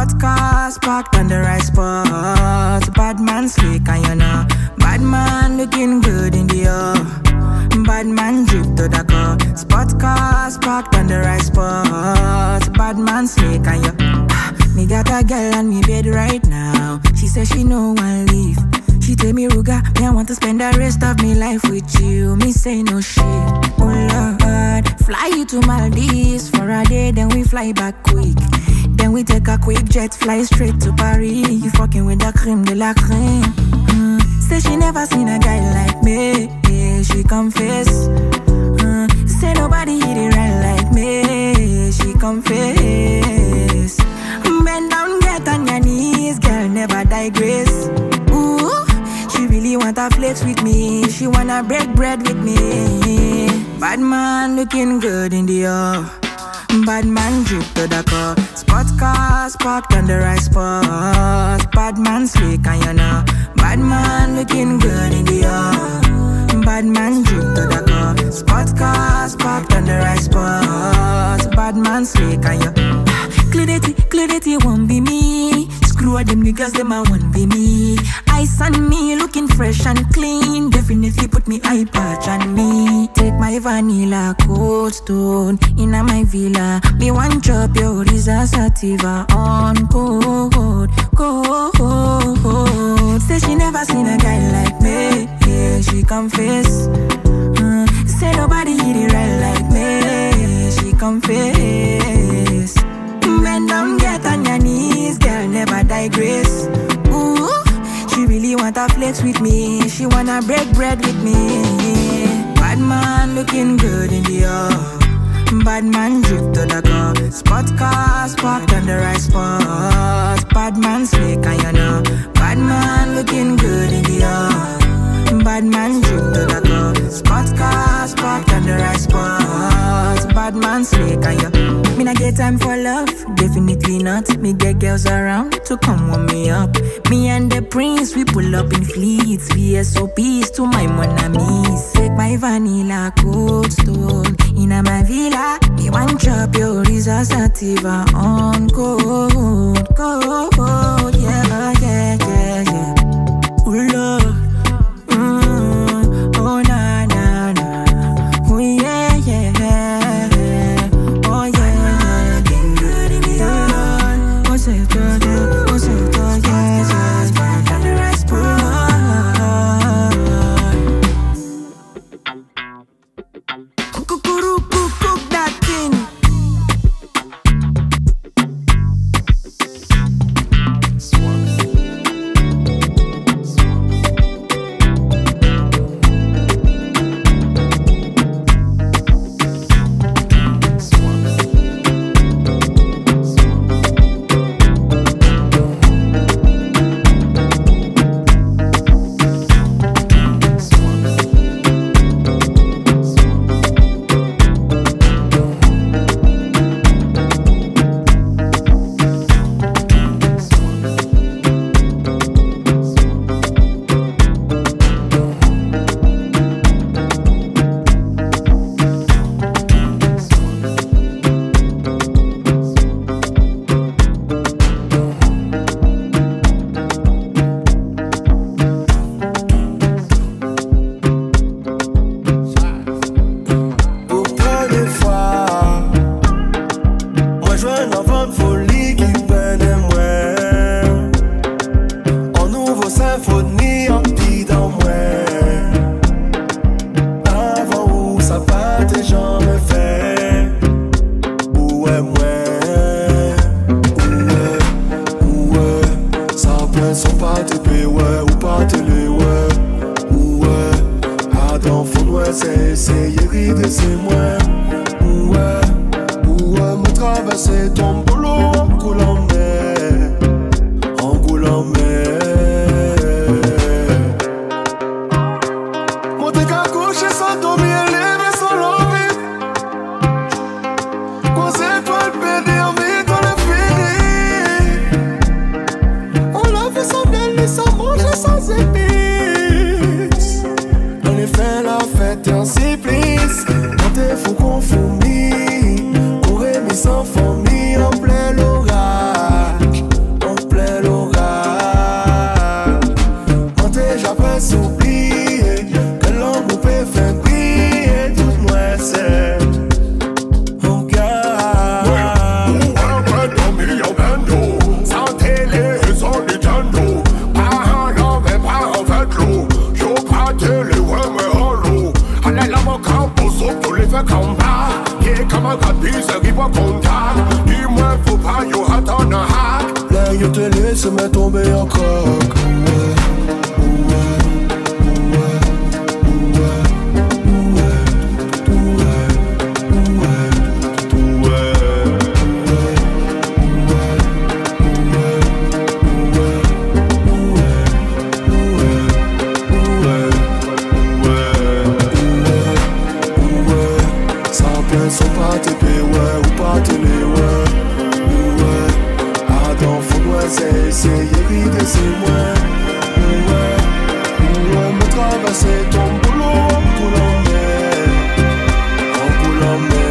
Spot cars parked on the right spot. Bad man slick and you know. Bad man looking good in the air. Bad man drip to the car. Spot cars parked on the right spot. Bad man slick and you. Me got a girl on me bed right now. She says she no one leave. She tell me, Ruga, me I want to spend the rest of me life with you. Me say no shit. Oh Lord, fly you to Maldives for a day, then we fly back quick. Then we take a quick jet, fly straight to Paris. You fucking with the creme de la creme. Say she never seen a guy like me. Yeah, she confess. Say nobody hit it right like me. She confess. Bend down, get on your knees, girl, never digress. Ooh, she really wanna flex with me. She wanna break bread with me. Bad man looking good in the air. Bad man drip to the car. Spot cars parked on the right spot. Bad man slick and you know. Bad man looking good in the air. Bad man drip to the car. Spot cars parked on the right spot. Bad man slick and you. Clarity won't be me. Screw all them niggas, them I won't be me. Ice on me, looking fresh and clean. Definitely put me eye patch on me. Take my vanilla cold stone in my villa. Me one drop your Risa Sativa on cold. Say she never seen a guy like me. Yeah, she confess. Say nobody hit it right like me. She confess. Bend down, get on your knees, girl, never digress. Ooh, she really wanna flex with me. She wanna break bread with me. Bad man looking good in the air. Bad man drip to the car. Spot cars parked on the right spot. Bad man slick and you know. Bad man looking good in the air. Bad man drip to the car. Spot cars parked on the right spot. Bad man slick and you. Me not get time for love, definitely not. Me get girls around to come warm me up. Me and the prince, we pull up in fleets. VSOPs to my mon amis. Take my vanilla cold stone in my villa. Me one drop your Risa Sativa on cold. Yeah, yeah, yeah, yeah. Ooh, Lord. Oh, na, na, na. Oh, yeah, yeah, yeah. Oh, yeah. puis arrive au contact. Dis-moi, faut pas, yo, attends un hack. Là, yo te laisse me tomber en croque. Sans pas TP, ouais, ou pas télé, ouais, ouais. Attends, faut moi, c'est essayer de c'est moi, ouais, me traverser ton boulot en coulant mer, en coulant mer.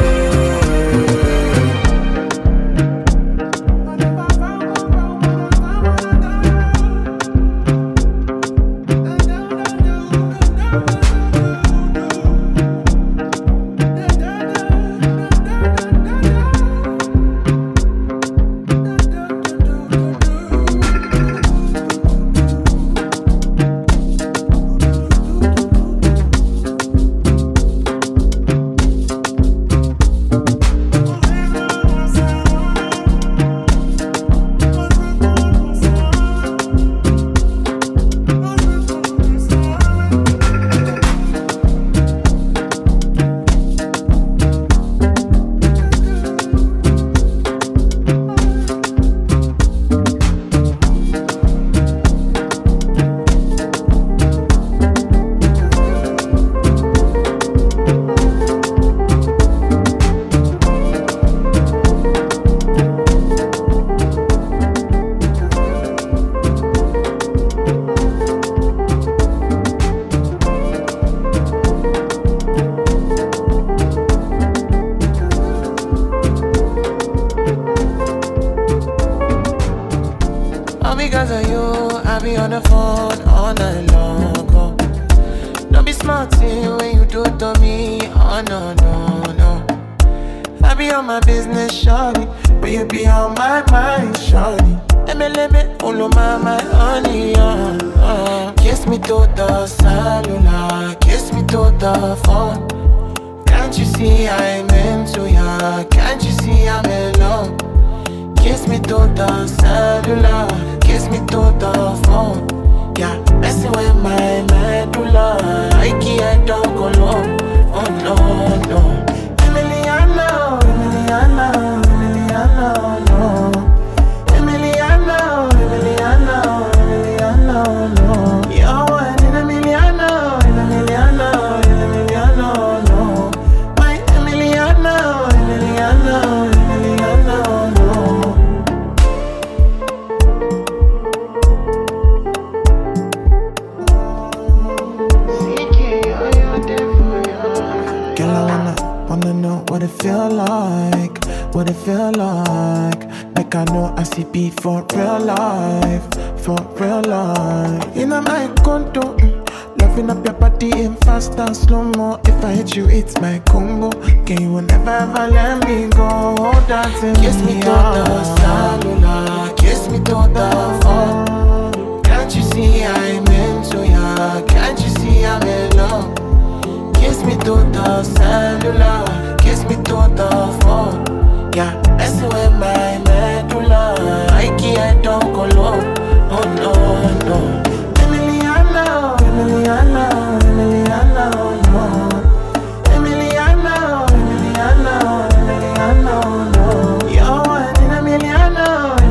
Because of you, I be on the phone all night long. Oh. Don't be smart when you do it to me. Oh no, no, no. I be on my business, shawty, but you be on my mind, shawty. Let me, all of my honey, Kiss me to the cellular, kiss me to the phone. Can't you see I'm into ya? Can't you see I'm in love? Kiss me to the cellular, kiss me to the phone. Yeah, messing with my medulla. I can't talk alone. Oh no, no. Emiliano, Emiliano, Emiliano, no. Emiliano, Emiliano, Emiliano, no. You're one in Emiliano, Emiliano, Emiliano, no. My Emiliano, Emiliano, Emiliano, no. Wanna know what it feel like, what it feel like. Like I know I see beat for real life, for real life. In my condo, loving up your body in fast and slow-mo. If I hit you, it's my combo. Can you never ever let me go? Dancing kiss me to the cellular, kiss me to the phone. Can't you see I'm into ya? Can't you see I'm in love? Kiss me to the cellular, kiss me to the phone. Yeah, messing with my medulla. I can't talk alone. Oh no, no. Emiliano, Emiliano, Emiliano, no. Emiliano, Emiliano, Emiliano, no. You're one in Emiliano,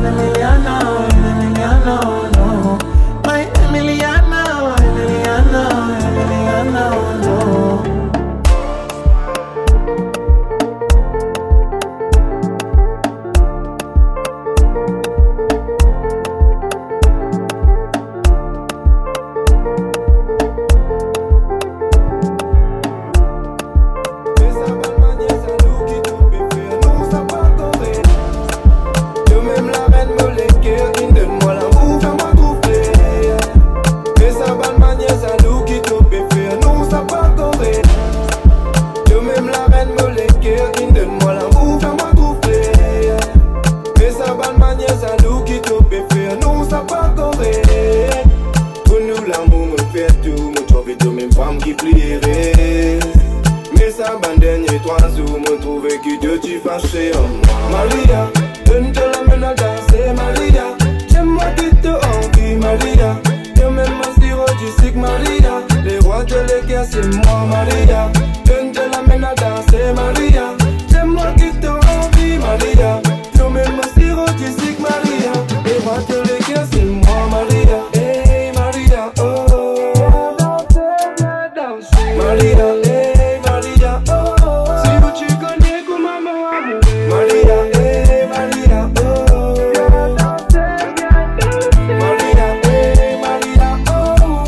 danser en moi. Maria, donne te la main à danser, Maria. J'aime-moi qui te envie, Maria. Yo même mon sirop du sucre, Maria. Les rois de l'équerre, c'est moi, Maria. Donne te la main à danser, Maria. J'aime-moi qui te envie, Maria. Yo même mon sirop du sucre, Maria. Les rois de l'équerre, c'est moi, Maria. Hey, Maria, oh. Maria, hey, Maria, oh. Si vous tu connais comme maman, Maria, hey, Maria, oh. Maria, hey, Maria, oh.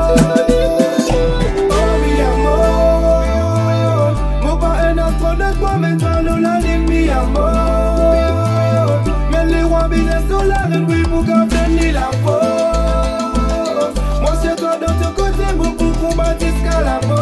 Oh, mi amor. Mon pas un astronaute, moi, mais toi, nous l'anime, mi amor. Mais les rois binaires sont là, oui, pour garder la faute. Moi, c'est toi dans ton côté, mon pour combattre jusqu'à la mort.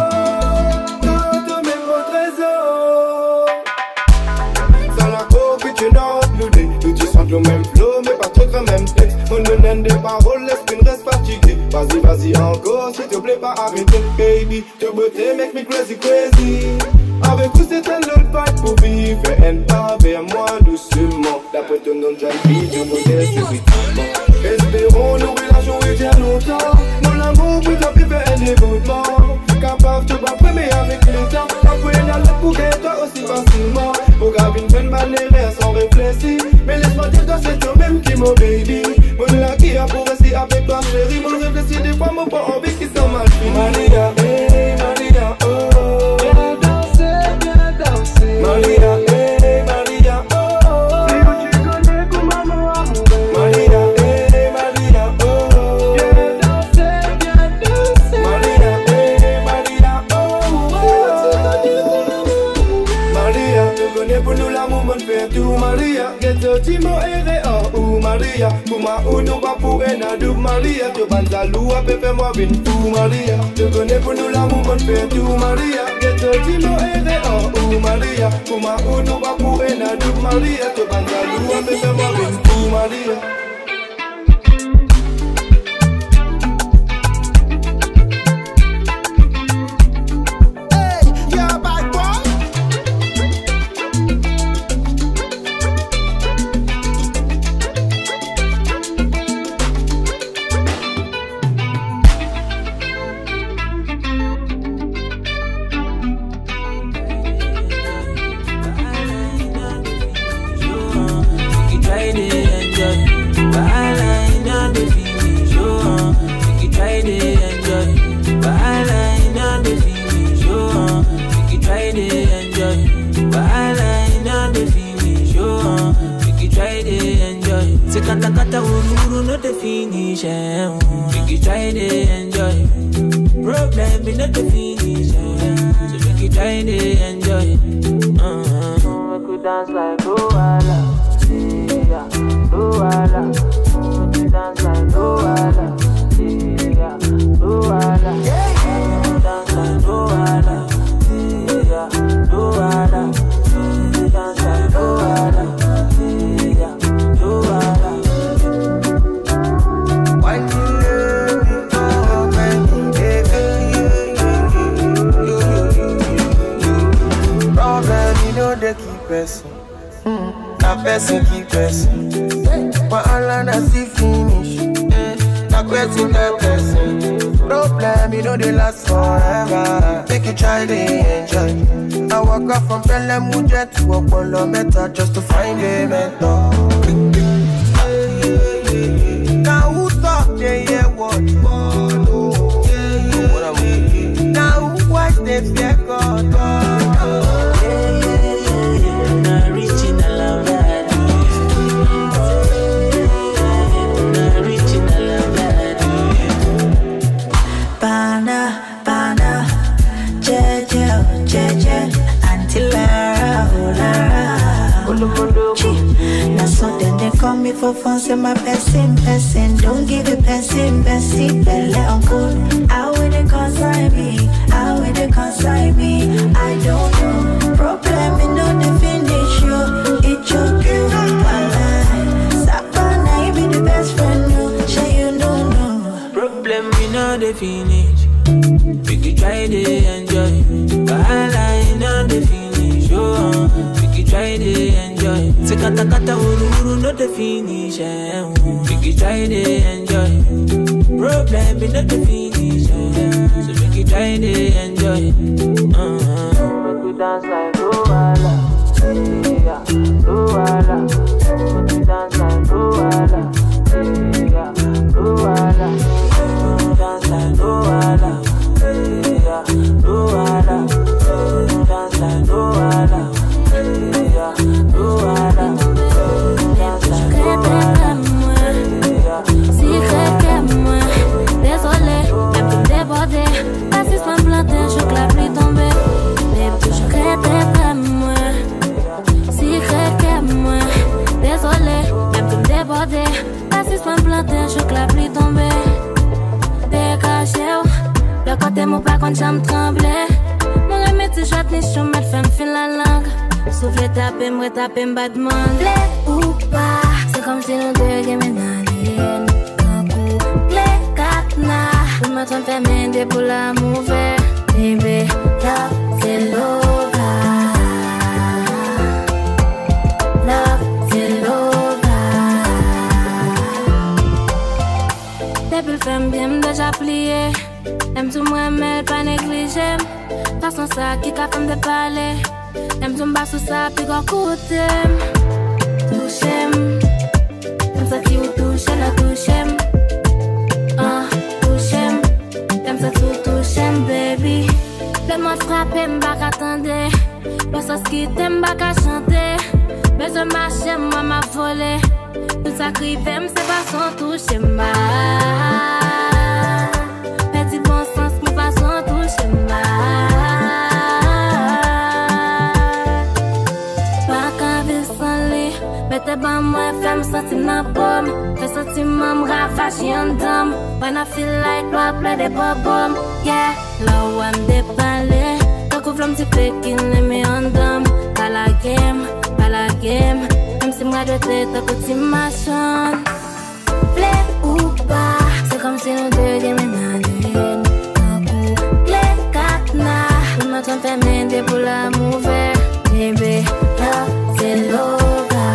Le même flow, mais pas trop le même texte. On ne donne des paroles, laisse qu'une reste fatiguée. Vas-y, vas-y encore, s'il te plaît, pas arrêter, baby. Te beauté make me crazy, crazy. Avec vous, c'est un autre fight pour vivre. Fais un pas vers moi doucement. D'après ton nom de jeune fille, du modèle subitement. Espérons nos relations et bien longtemps. Mon amour peut t'appeler faire un dévotement. Capable de pas premier avec le temps. Après une lettre pour gagner toi aussi facilement. Pour graver une bonne manière sans réfléchir. Mais laisse-moi dire que c'est toi-même qui mon baby. Mon là qui a pour rester avec toi chérie. Mon réfléchir des fois, mon pas envie qui sont mal fait. Maria, hey Maria, oh. Viens danser, Maria, hey Maria, oh. Si tu connais comme maman amour. Maria, hey Maria, oh. Viens danser, Maria, hey Maria, oh. Maria, tu connais pour nous l'amour, mon fait tout, Maria. Timo ere oh Maria. Kuma uno va pour un adou Maria. Tu banza loua pepe moi vin tout Maria. Tu connais pour nous l'amour mon fait tout Maria. Timo ere oh Maria. Kuma uno va pour un adou Maria. Tu banza loua pepe moi vin tout Maria. Kata kata ururu no the finish. Make you try to enjoy. Problem is not the finish. So make you try to enjoy. Make you dance like Luala, yeah, Luala. Make you dance like Luala, yeah, Luala. Make you dance like Luala, yeah, Luala. Make you dance like Luala. Na person keep person. But all I see finish. Na question that person. Problem you know they last forever. Make you try to enjoy. I walk up from Pelham Mujet to Apollo Meta just to find a mentor. Now who talk they hear what follow? Now who watch they fear God? Now so then they call me for fun, say my person. Don't give it person, belly uncle. How will they consign me? How will they consign me? I don't know. Problem in no the finish you. It choke you. Sapana, you be the best friend, no. Sure you don't know. Problem in no the finish. We could try to enjoy. But I know the finish, oh. We could try try to enjoy. Say kata kata uru uru no the finish. Make you try to enjoy. Problem be not the finish. So make you try to enjoy. Make you dance like Luala, yeah, Luala. Make you dance like Luala, yeah, Luala. Make you dance like Luala, yeah, Luala. Make you dance like Luala, yeah, Luala. Dance like Luala, yeah. Secret que moi, désolé, même tout débordé. Assistant planté, je claque lui tombé. Secret que moi, secret que moi, désolé, même tout débordé. Assistant planté, je claque lui tombé. Dégagé, le côté mon pas quand j'aime trembler. Mon remède, c'est chouette, ni chômette, femme file la langue. Souffle taper, me retaper, me battre, m'enlever ou pas. C'est comme si nous deux gagnons. Pour me tromper, m'aider pour l'amour vert. Baby, love, c'est l'ova. Love, c'est l'ova. Depuis le femme bien déjà plié. Aime tout moi, mais pas négligé. Façon ça, qui qu'a fait de parler. Aime tout m'bas sous ça, puis qu'on coûte. Touchem. Comme ça, qui vous touche, la touchem. Baby, le monde frappé, m'bak attendre. Le sauce qui t'aime, m'bak à chanter. Mais je marche, moi m'a volé. Tout ça crive, c'est pas son touche, ma. Petit bon sens, mais pas son touche, ma. Pas qu'un vie sans lit. Mettez pas moi, femme sentir ma pomme. Fais sentir mon ravage, y'en dame. When I feel like I play the bubble, yeah. Là où I'm dépalé, tant qu'on v'l'homme petit peu qui l'aime en dame. Pas la game, même si moi je t'ai tant que tu m'achètes. Play ou pas, c'est comme si nous deux déménageons. Tant qu'on play katna, nous m'entendons faire m'aider pour l'amour vert. Baby, love, c'est l'eau.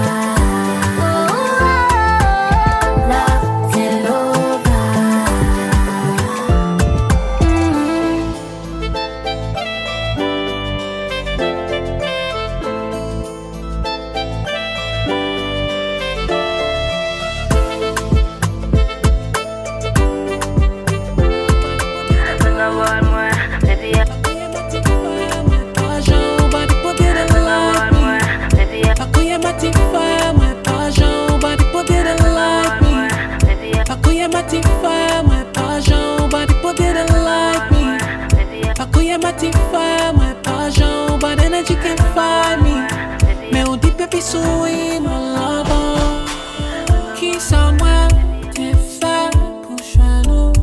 My passion, but energy can't find me. Mais on dit baby souris mon lover. Qui somewhere t'es fait pour chez nous.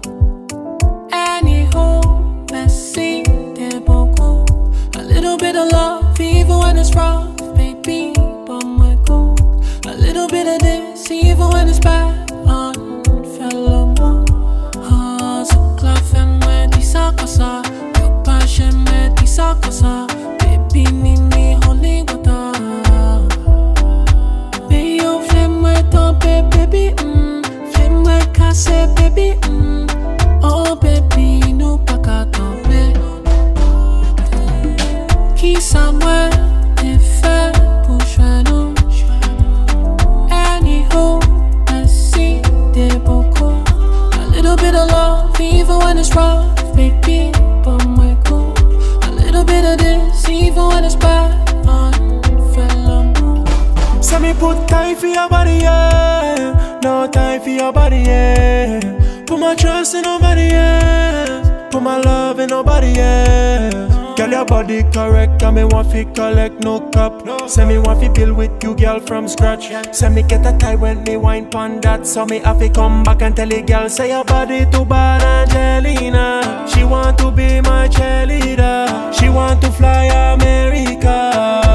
Anyhow, merci t'es beaucoup. A little bit of love, even when it's rough, baby, but my cool. A little bit of this, even when it's bad. Fais l'amour. So clap fait moi dis ça comme ça. J'aime dire ça comme ça. Baby, Nini, holy water. Baby, oh, fais-moi tomber, baby. Fais-moi casser, baby. Oh, baby, nous pas qu'à tomber. Qui ça, moi, t'es fait pour jouer nous. Anyhow, merci, t'es beaucoup. A little bit of love, even when it's rough, baby. But my cool. A little bit of this, even when it's bad. Fais l'amour. So me put time for your body, yeah. No time for your body, yeah. Put my trust in nobody, yeah. Put my love in nobody else. Girl, your body correct, and me want fi collect no cap. Say me want fi build with you, girl, from scratch. Say me get a tie when me wine pon that. So me have to come back and tell the girl, say your body too bad, Angelina. She want to be my cheerleader. She want to fly America.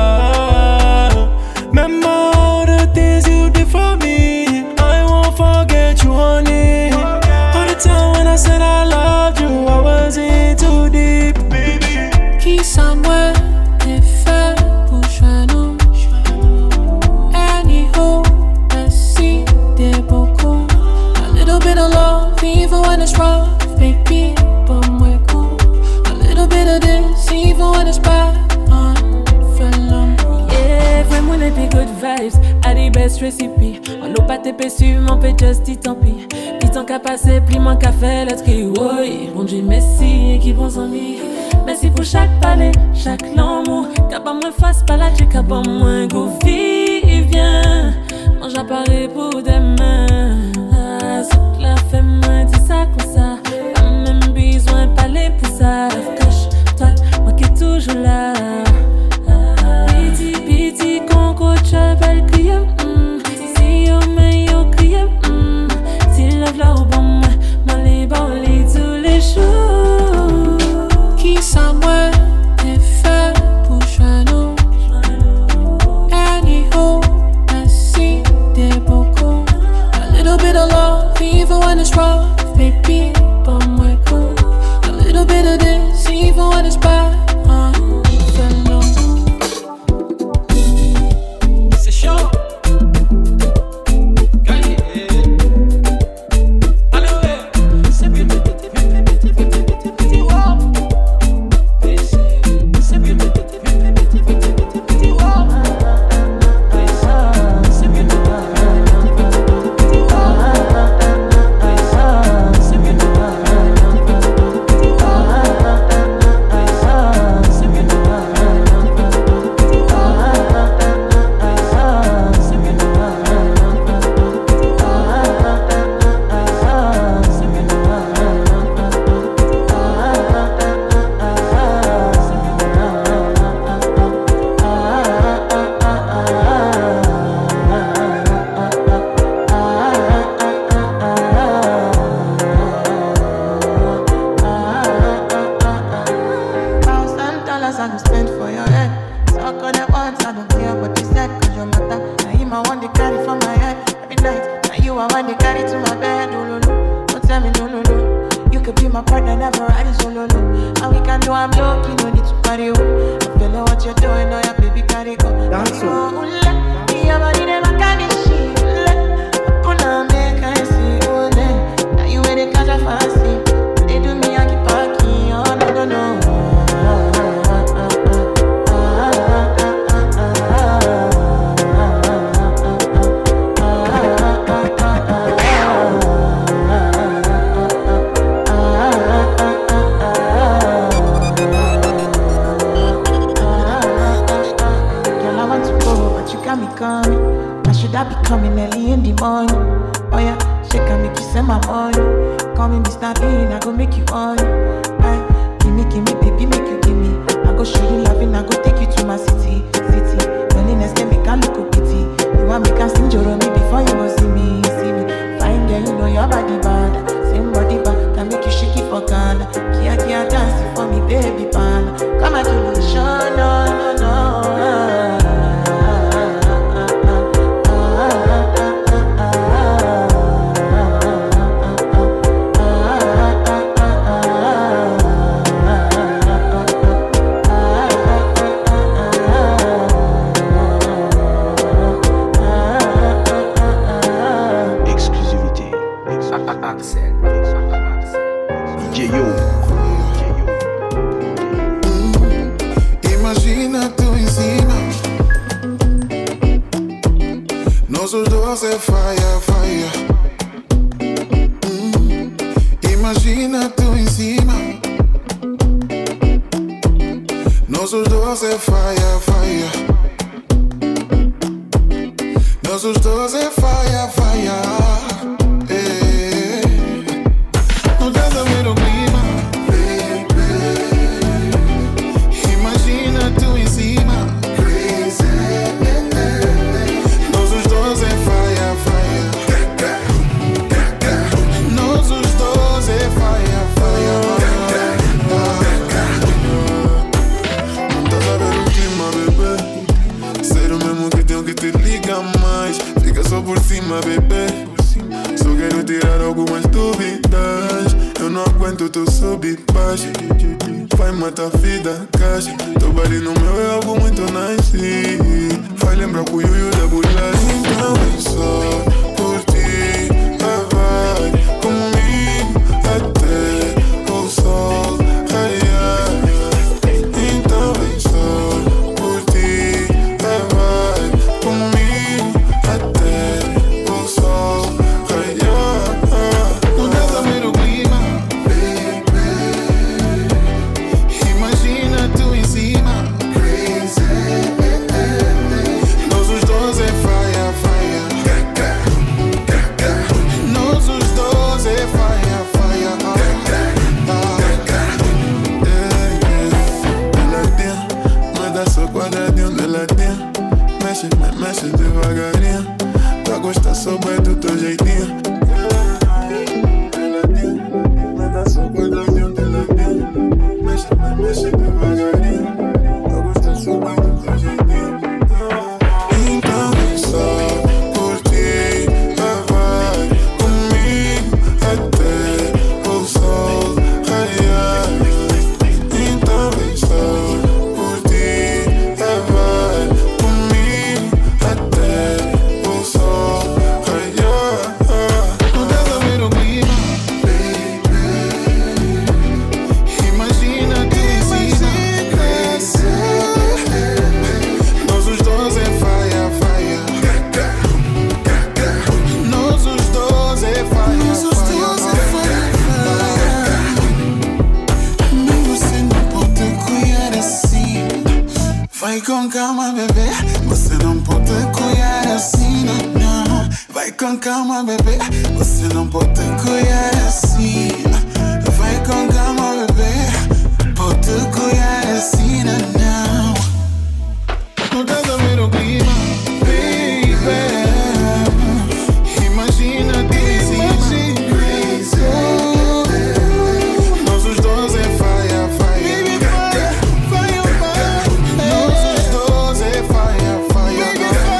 Remember all the things you did for me. I won't forget you, honey. All the time when I said I loved you, I was in too deep, baby. Qui somewhere t'es fait pour jouer nous. bit of love, even when it's rough, baby, but we're cool. A little bit of this, even when it's bad. Yeah, vraiment les big good vibes, à des best recipes. On n'a pas TP sur mon peut just dit tant pis. Puis tant qu'à passer, plus moins qu'à faire le tri. Oui, bon Dieu merci, qui prend son lit. Merci pour chaque palais, chaque l'amour. Qu'à pas moins face, pas la check, qu'à pas moins go vivien. Mange à Paris pour demain. Ah, saute la fait moins, dis ça comme ça. Pas même besoin de parler pour ça. Cache-toi, moi qui est toujours là. Piti, conco, belle crier. Si yo me yo crier. Si love la ou bon, moi les bauli tous les jours. Qui ça moi est fait pour joindre. Anyhow, I see des beaucoup. A little bit of love, even when it's rough, baby, but moi cool. A little bit of this, even when it's bad. Vai matar vida, caixa. Teu body no meu é algo muito nice. Vai lembrar com o Yuyu da bolagem. Então é só por ti, vai. Vai con calma, bebê. Você não pode cuidar assim, não. Vai com calma, bebê. Você não pode cuidar assim. Vai com calma, bebê. Pode cuidar assim, não. Não dá pra ver o clima, baby. Imagina que existe. Nós os dois é faia, faia. Nós os dois é faia, faia.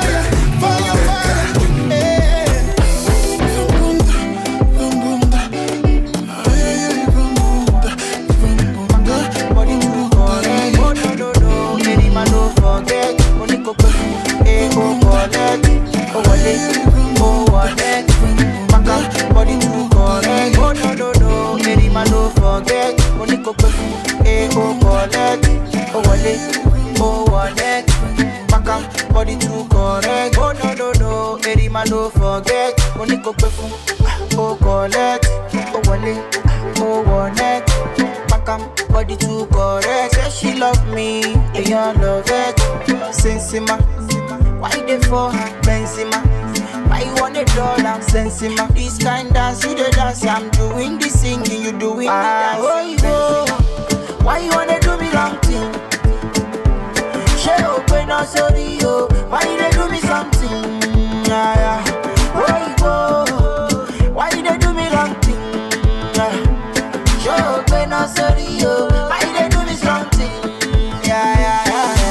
Body too correct. Oh no no no, Eddie man don't forget. Money go perfume, oh collect, oh wale, oh one Makam, body too correct. Say she love me, and you love it. Sensima, why they for Benzema? Why you want $1? Sensima, this kind dance you the dance. I'm doing the singing, you doing the dance. Oh, why you wanna do me wrong thing? She open up sorry yo. Why they do me something? Yeah, yeah. Why they do me wrong thing? She open up sorry yo. Why they do me something? Yeah.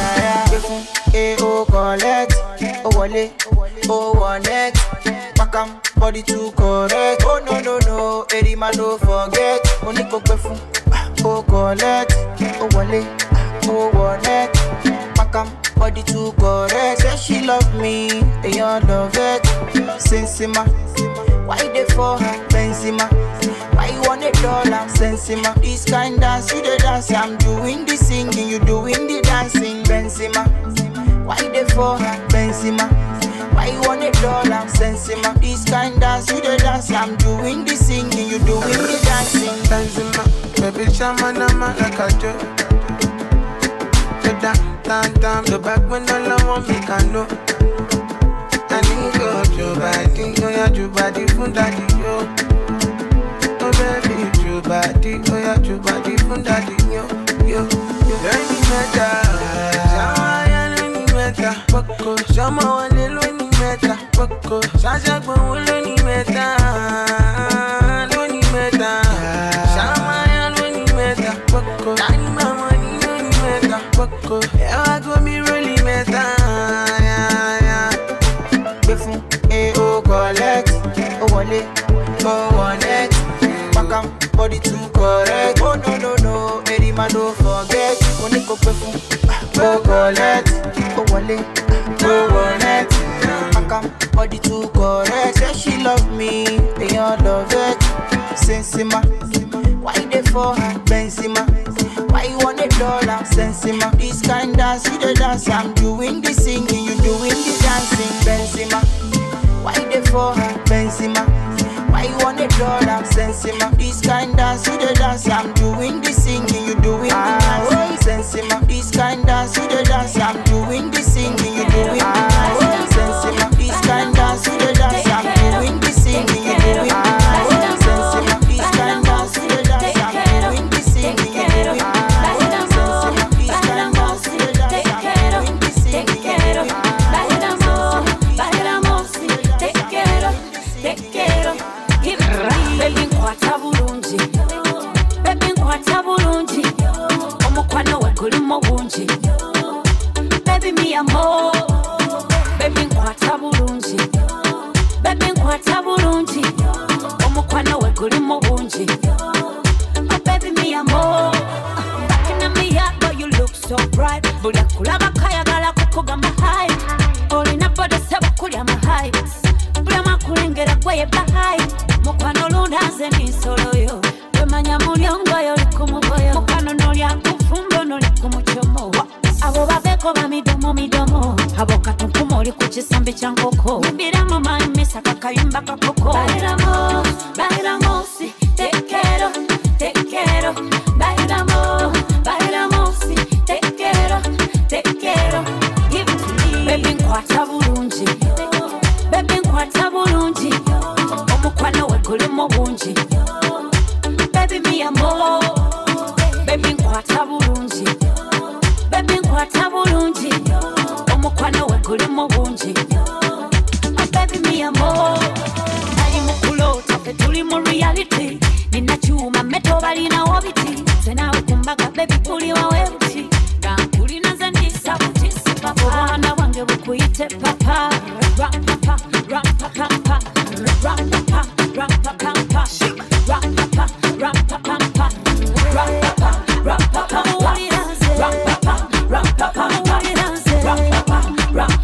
Oh collect, oh wale, oh one next. Makam body too correct. Oh no, Eddie man don't forget. Money go perfume, oh collect, oh wale, oh one next. Body too correct. Say she love me, and you love it. Sensima, why they for her? Benzema, why you want $1? Sensima, this kind dance you the dance. I'm doing the singing, you doing the dancing. Benzema, why they for her? Benzema, why you want $1? Sensima, this kind dance you the dance. I'm doing the singing, you doing the dancing. Benzema, baby shamanama like a joke. The back when all I want me can know. I need your body, your body from daddy, yo. Oh baby, your body, your body from daddy, yo. Learning meta, Shama learning meta, Poco, Shama one learning meta, Poco, Shasha one learning meta, learning meta, Shama learning meta, Poco, Tani mama learning meta, Poco. I go me really meta, yeah. Befun, oh collect, oh wale, oh one next. Makam, body too correct. Oh no, Eddie man don't forget. Money go befun, oh collect, oh wale, oh one next. Makam, body too correct. Say she love me, and you love it. Sensima, why they for her? Benzema, why you want $1? Sensima, this kind dance you the dance. I'm doing the singing, you doing the dancing. Benzema, why they for her? Benzema, why you want $1? Sensima, this kind dance you the dance. I'm doing the singing, you doing the dancing. Sensima, this kind dance you the dance. I'm doing the singing, you doing the dancing. Sensima, this kind dance you the dance. I'm doing the singing, you doing the dancing. Sensima, this kind dance you the dance. I'm doing the singing, you doing the dancing. Baby mi amor, baby nkwata bulungi, baby nkwata bulungi, omukwano we guli mu bungi. Oh baby mi amor, back in me heart, but you look so bright. Buli akulaba kayagala kukugamba hi, olina boda sebo kulya mahai, buli amakulengera gwe yebahai. Mukwano lundaze nisolo yo, wemanya mulyongo yo likumugoyo, mukwano nolya kufumbo noli kumuchomo. Abo baveko ba midomo, abo katunkumo oli kuchisambi cha nkoko. Mbiramu maimisa kakayumba kakoko. Bailamos, si te quiero. Bailamos, si te quiero. kulimo bungi. Baby me amor, baby nkwata bulungi. Baby nkwata bulungi, omukwano we kulimo bungi. Baby me amor, nali mukulota fe tuli mu reality. Nina chuma meto balina obiti. Senawe kumbaga baby kuli wawe buti. Gankulina zendisa butisi papa. Obwana wange bukuyite papa. Rap papa, rap papa, rap papa, rap papa, rap papa, rap papa, rap papa, rap papa, rap papa, rap papa, rap papa, rap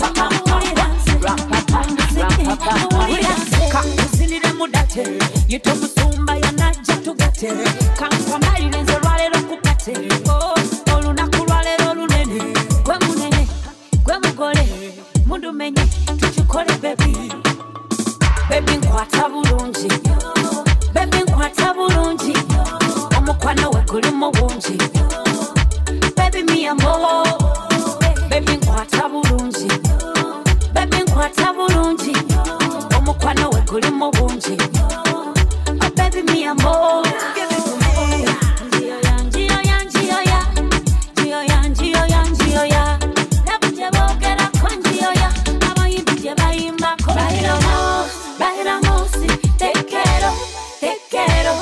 papa, kakuzinire mudate. Yito musumba yanaja tugate. Kankwa mali lenze lwalero kukate. Olunaku lwalero lunene. Gwe munene, gwe mugole. Mundu menye, tuchukole baby. Baby nkwata bulungi. Baby nkwata bulungi. Omukwano we kulimo bungi. Baby me amor. Baby nkwata bulungi. Baby nkwata bulungi. Omukwano we kulimo bungi. Oh baby me amor. Give it to me. Gio ya, gio ya. Gio ya, gio ya, gio ya. Nabuje bogera kwa gio ya. Abayibije bayimba ko. Bailamos, si te quiero, te quiero.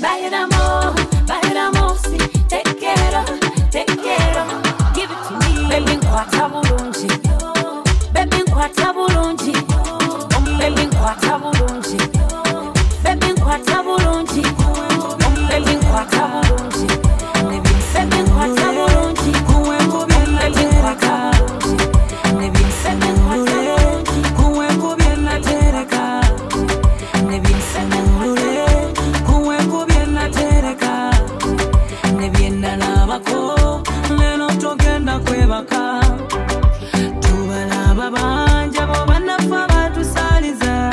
Bailamos, si te quiero, te quiero. Give it to me. Baby nkwata bulungi. Baby nkwata bulungi. Baby nkwata bulungi. Baby nkwata bulungi. Baby nkwata bulungi. Baby nkwata bulungi. Baby nkwata bulungi. Baby nkwata bulungi. Kuwengu bien tereka. Nebi semulule. Kuwengu bien tereka. Nebi nalabako. Leno togenda kwebaka. Tubalaba banja bo banafa batusaliza.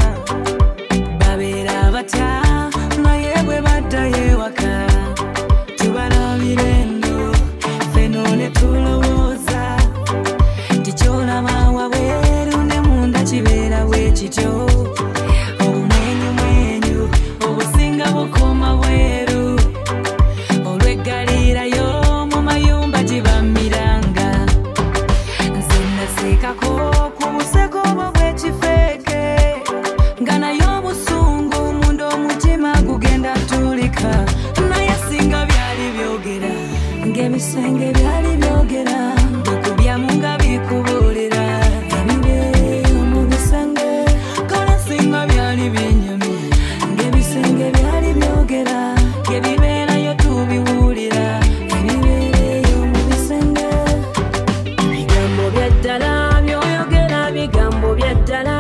Babera batya naye bwe baddayo ewaka. Tubalabira eno feno ne tulowooza. Tikyolaba wabweru ne munda kibeera bwe kityo. Obumwenyumwenyu obusinga bukoma bweru. Olweggalirayo mu mayumba gibamiranga. Nze naseekako ku buseko obwo bw'ekifeeke. Nga naye obusungu munda omutima gugenda tulika. Naye singa byali byogera ng'ebisenge byali byogera. Bikubyamu nga bikubuulira ebibeeyo mu bisenge. Kale singa byali byenyumye ng'ebisenge byali byogera. Ebibeerayo tubiwulira ebibeeyo mu bisenge. Bigambo bya ddala by'oyogera, bigambo bya ddala.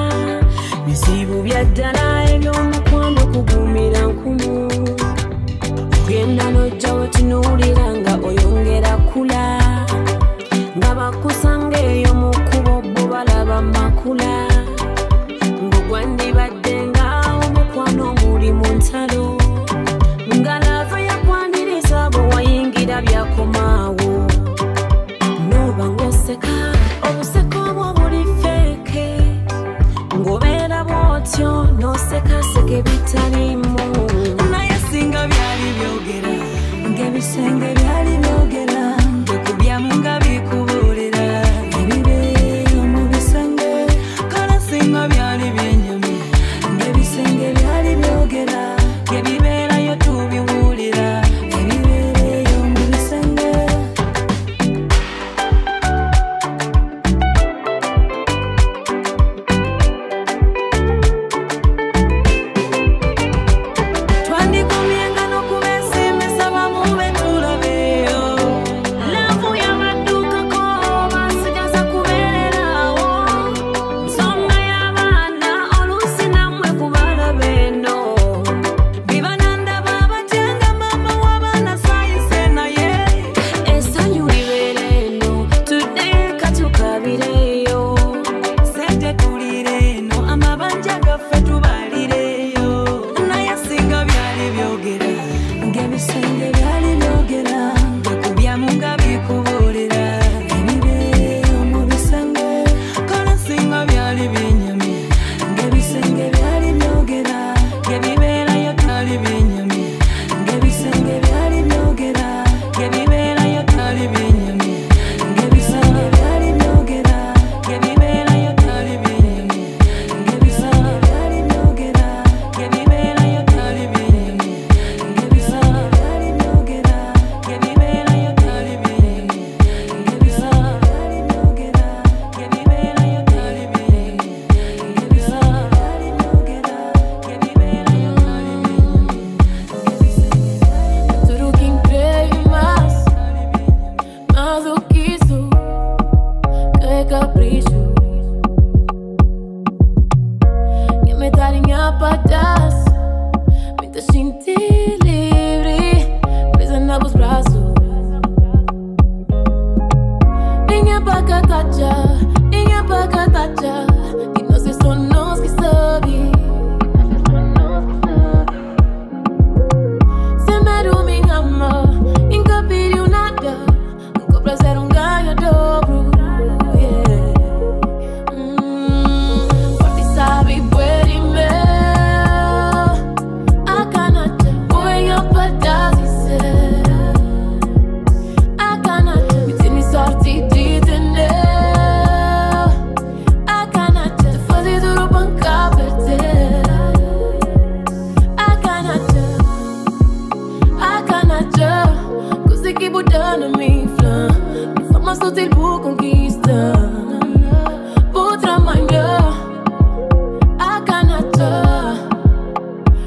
Bizibu bya ddala eby'omukwano kugumira nkumu. Ogenda n'ojja wetunuulira nga oyongera kula. Nga bakusanga eyo mu kkubo bo balaba makula. Ng'ogwandibadde nga omukwano guli mu ntalo. Nga lava yakwaniriza bwe wayingira byakomaawo. N'oba ng'oseka obuseko obwo buli feeke. Ng'obeera bw'otyo n'osekaseka ebitaliimu. Naye singa byali byogera ng'ebisenge byali byogera. Bikubyamu nga bikubuulira ebibeeyo mu bisenge. Kale singa byali byenyumye ng'ebisenge byali byogera. Ebibeerayo tubiwulira ebibeeyo mu bisenge. Twandikomyenga n'okubeesimisa bamu be tulabeyo. Laavu yabaddukako basigaza kubeererawo. Nsonga y'abaana oluusi nammwe kubalaba eno. Biba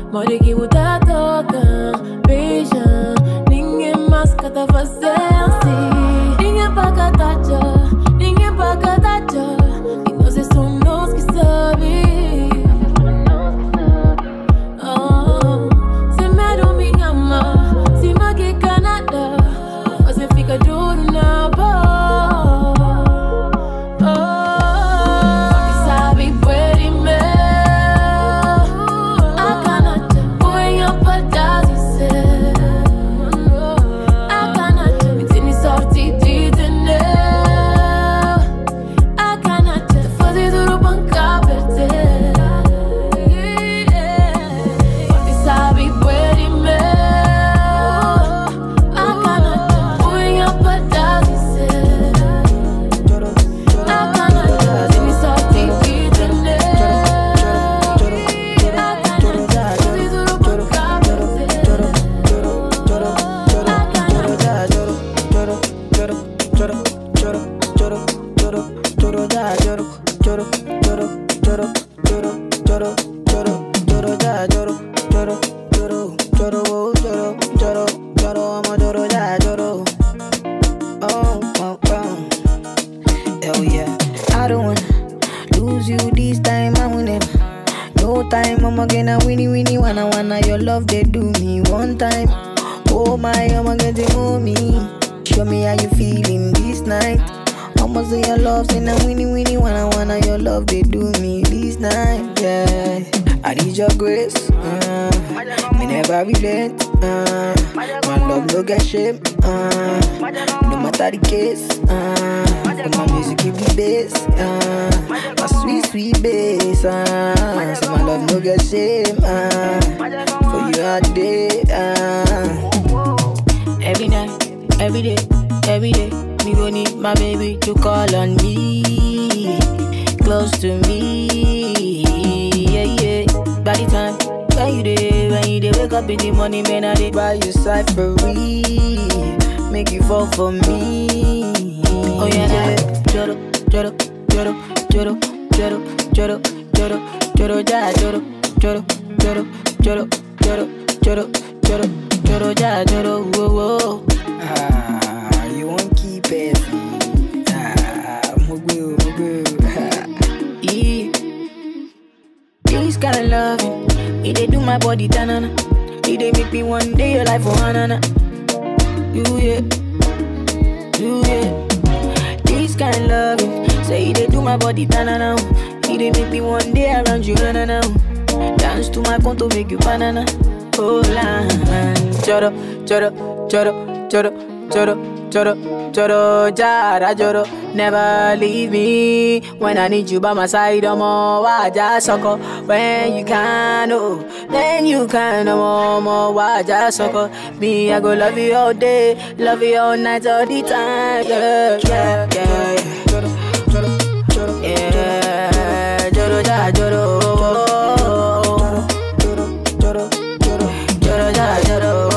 Moriki utatoka Beija Ninge maskata fazensi Ninge pakatacha Ninge pakatacha Ino se sonos ki sabi Se medo mi ama Si maki Canada Ose fica duro na boa No matter the case, my music give me bass, my sweet, sweet bass, so my love no get shame, for you all day, Every night, every day, me gon' need my baby to call on me, close to me, yeah, by the time when you dey wake up in the morning, man, I dey buy you cyphery, make you fall for me. Oh yeah, joro, joro, joro, joro, joro, joro, joro, joro, ja, joro, joro, joro, joro, joro, joro, joro, joro, ja, joro, whoa, whoa. You won't keep it. Mugu. This kind of loving, it dey do my body tanana. It dey make me one day your life for hanana. You yeah. This kind of loving, say it dey do my body tanana. It dey make me one day around you na. Dance to my conto make you banana. Oh la, choro, choro, choro, choro, choro, choro, choro, jara, choro. Never leave me when I need you by my side. I'm all waja soko. When you can, oh, then you can. I'm all waja soko. Me, I go love you all day, love you all night, all the time. Yeah, yeah, yeah. Joro, joro, joro, yeah, joro, ja, joro, joro, joro, joro, joro, ja, joro,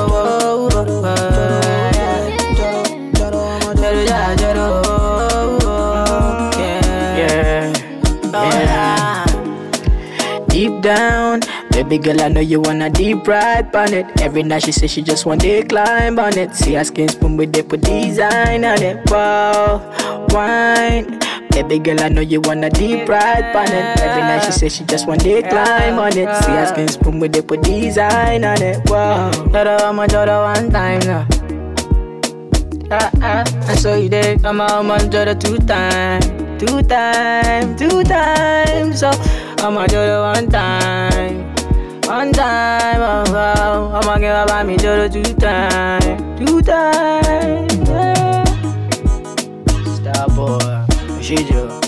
joro, ja, joro. Deep down, baby girl, I know you wanna deep ride on it. Every night she says she just want to climb on it. See her skin spoon with they put design on it. Wow, wine. Baby girl, I know you wanna deep ride on it. Every night she says she just want to climb on it. See her skin spoon with they put design on it. Wow, I'ma joro one time now. And so you did come out, man, joro two times. So I'ma do it one time, oh, I'ma give up me do it two times, yeah. Star boy, she do.